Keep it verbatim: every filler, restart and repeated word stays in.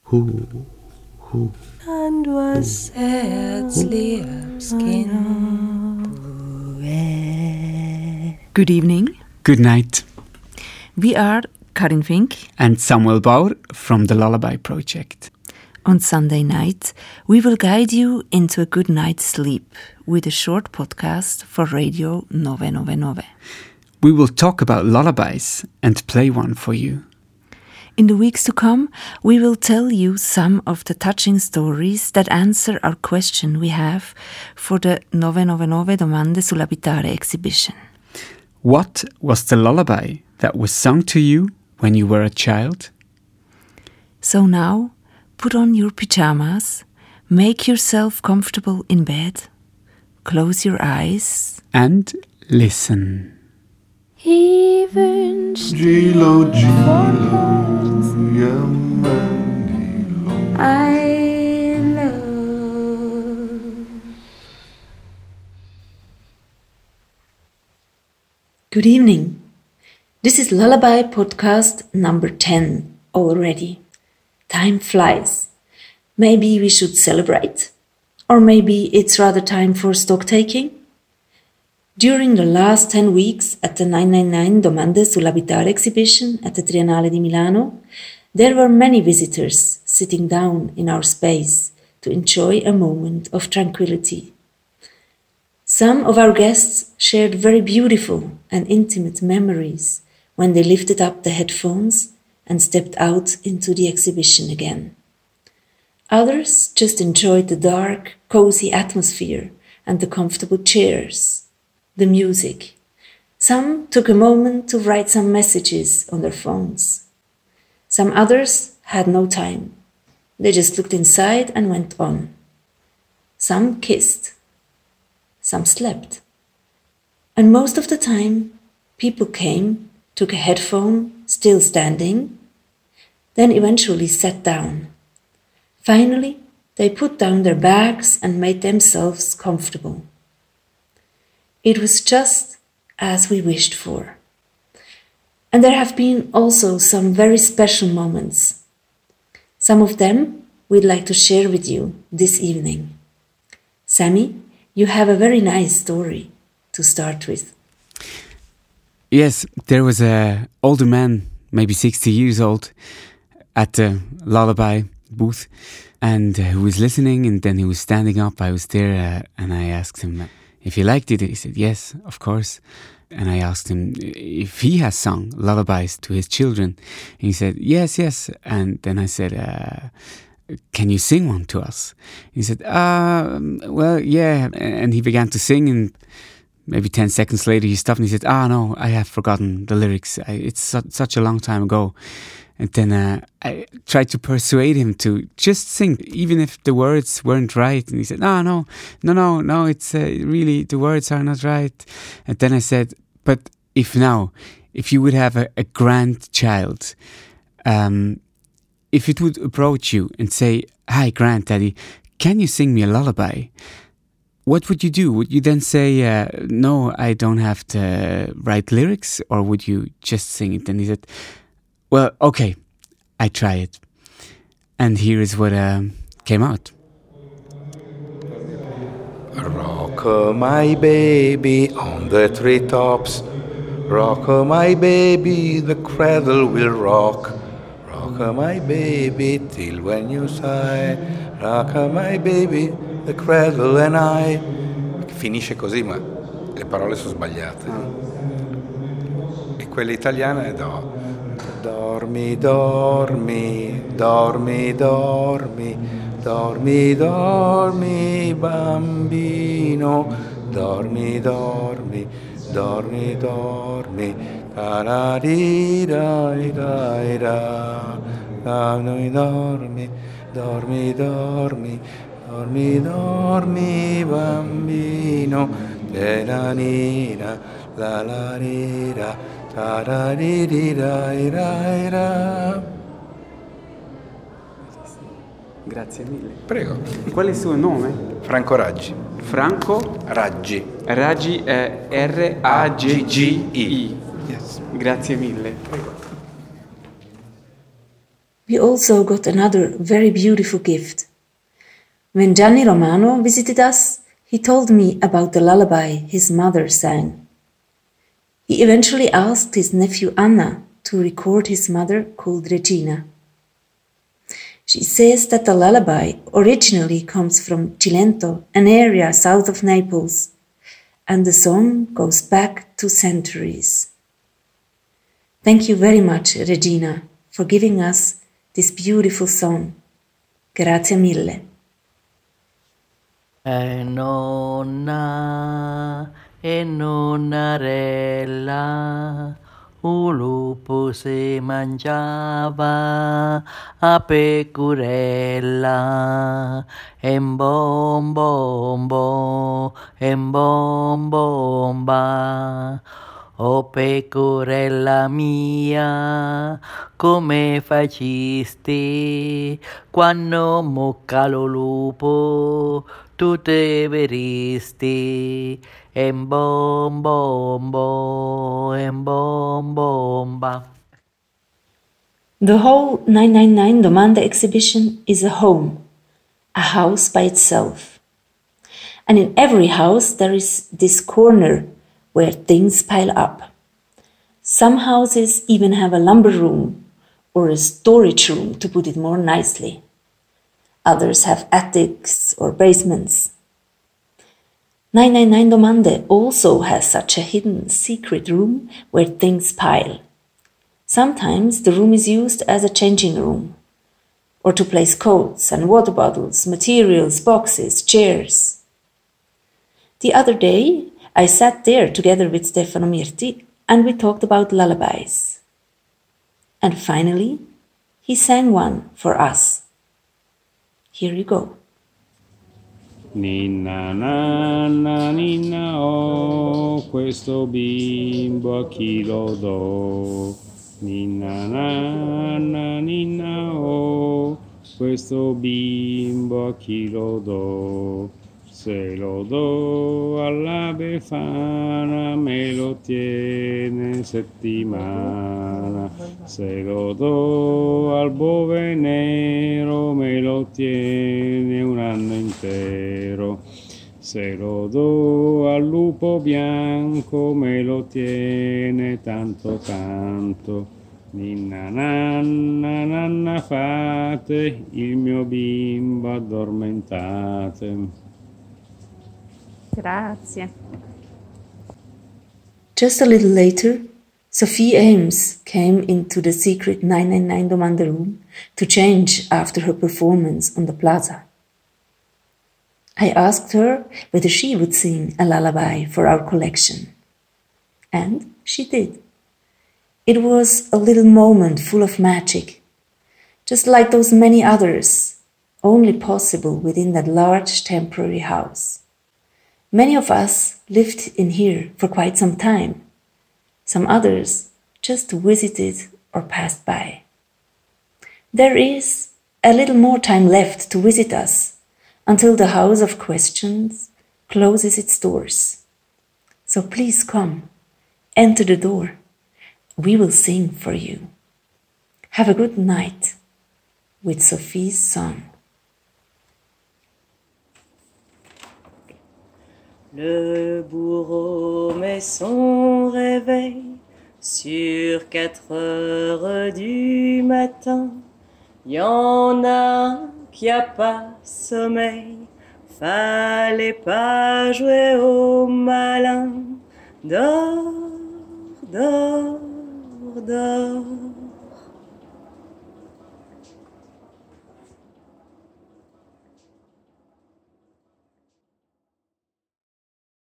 Who, who, and was herzlich abskind. Good evening. good night. We are Karin Fink. And Samuel Bauer from the Lullaby Project. On Sunday night, we will guide you into a good night's sleep with a short podcast for Radio nine nine nine. We will talk about lullabies and play one for you. In the weeks to come, we will tell you some of the touching stories that answer our question we have for the nine nine nine Domande sull'abitare exhibition. What was the lullaby that was sung to you when you were a child? So now, put on your pyjamas, make yourself comfortable in bed, close your eyes, And listen. He wünscht Gilo, Gilo, I love. Good evening. This is Lullaby Podcast number ten already. Time flies. Maybe we should celebrate? Or maybe it's rather time for stock taking? During the last ten weeks at the nine nine nine Domande sull'abitare exhibition at the Triennale di Milano, there were many visitors sitting down in our space to enjoy a moment of tranquility. Some of our guests shared very beautiful and intimate memories when they lifted up the headphones and stepped out into the exhibition again. Others just enjoyed the dark, cozy atmosphere and the comfortable chairs, the music. Some took a moment to write some messages on their phones. Some others had no time. They just looked inside and went on. Some kissed. Some slept. And most of the time, people came, took a headphone, still standing, then eventually sat down. Finally, they put down their bags and made themselves comfortable. It was just as we wished for. And there have been also some very special moments. Some of them we'd like to share with you this evening. Sammy, you have a very nice story to start with. Yes, there was a older man, maybe sixty years old, at the lullaby booth, and uh, who was listening, and then he was standing up. I was there, uh, and I asked him if he liked it. He said, yes, of course. And I asked him if he has sung lullabies to his children. And he said, yes, yes. And then I said, uh, can you sing one to us? He said, uh, well, yeah. And he began to sing, and maybe ten seconds later he stopped and he said, ah, no, I have forgotten the lyrics. I, it's su- such a long time ago. And then uh, I tried to persuade him to just sing, even if the words weren't right. And he said, no, no, no, no, no, it's uh, really, the words are not right. And then I said, but if now, if you would have a, a grandchild, um, if it would approach you and say, hi, granddaddy, can you sing me a lullaby? What would you do? Would you then say, uh, no, I don't have the right lyrics? Or would you just sing it? And he said, well, okay, I try it. And here is what um, came out. Rock my baby on the treetops. Rock my baby, the cradle will rock. Rock my baby till when you sigh. Rock my baby, the cradle and I. Finisce così, ma le parole sono sbagliate. E quella italiana è do. Dormi, dormi, dormi, dormi, dormi, dormi, bambino, dormi, dormi, dormi, dormi, tararirai-rai-ra, dormi, dormi, dormi, dormi, dormi, dormi, bambino, teranina, la la rira. Grazie mille. Prego. Qual è il suo nome? Franco Raggi. Franco Raggi. Raggi è R A G G I. Yes. Grazie mille. Prego. We also got another very beautiful gift. When Gianni Romano visited us, he told me about the lullaby his mother sang. He eventually asked his nephew Anna to record his mother called Regina. She says that the lullaby originally comes from Cilento, an area south of Naples, and the song goes back to centuries. Thank you very much, Regina, for giving us this beautiful song. Grazie mille. E nonna, e nonnarella, un lupo si mangiava a pecorella, e bom bom bom, e bom bom ba. O pecorella mia, come facisti quando mocca lo lupo, tu te veristi, e bom bom bom, e bom bom ba. The whole nine nine nine Domande exhibition is a home, a house by itself. And in every house there is this corner where things pile up. Some houses even have a lumber room or a storage room, to put it more nicely. Others have attics or basements. nine nine nine Domande also has such a hidden secret room where things pile. Sometimes the room is used as a changing room, or to place coats and water bottles, materials, boxes, chairs. The other day, I sat there together with Stefano Mirti and we talked about lullabies. And finally, he sang one for us. Here you go. Ninna nanna ninna oh, questo bimbo a chi lo do? Ninna nanna ninna oh, questo bimbo a chi lo do? Se lo do alla Befana me lo tiene settimana, se lo do al bove nero me lo tiene un anno intero, se lo do al lupo bianco me lo tiene tanto tanto. Ninna nanna nanna fate, il mio bimbo addormentate. Grazie. Just a little later, Sophie Ames came into the secret nine nine nine Domande room to change after her performance on the plaza. I asked her whether she would sing a lullaby for our collection. And she did. It was a little moment full of magic, just like those many others, only possible within that large temporary house. Many of us lived in here for quite some time. Some others just visited or passed by. There is a little more time left to visit us until the House of Questions closes its doors. So please come, enter the door. We will sing for you. Have a good night with Sophie's song. Le bourreau met son réveil sur quatre heures du matin. Y en a un qui a pas sommeil, fallait pas jouer au malin. Dors, dors, dors.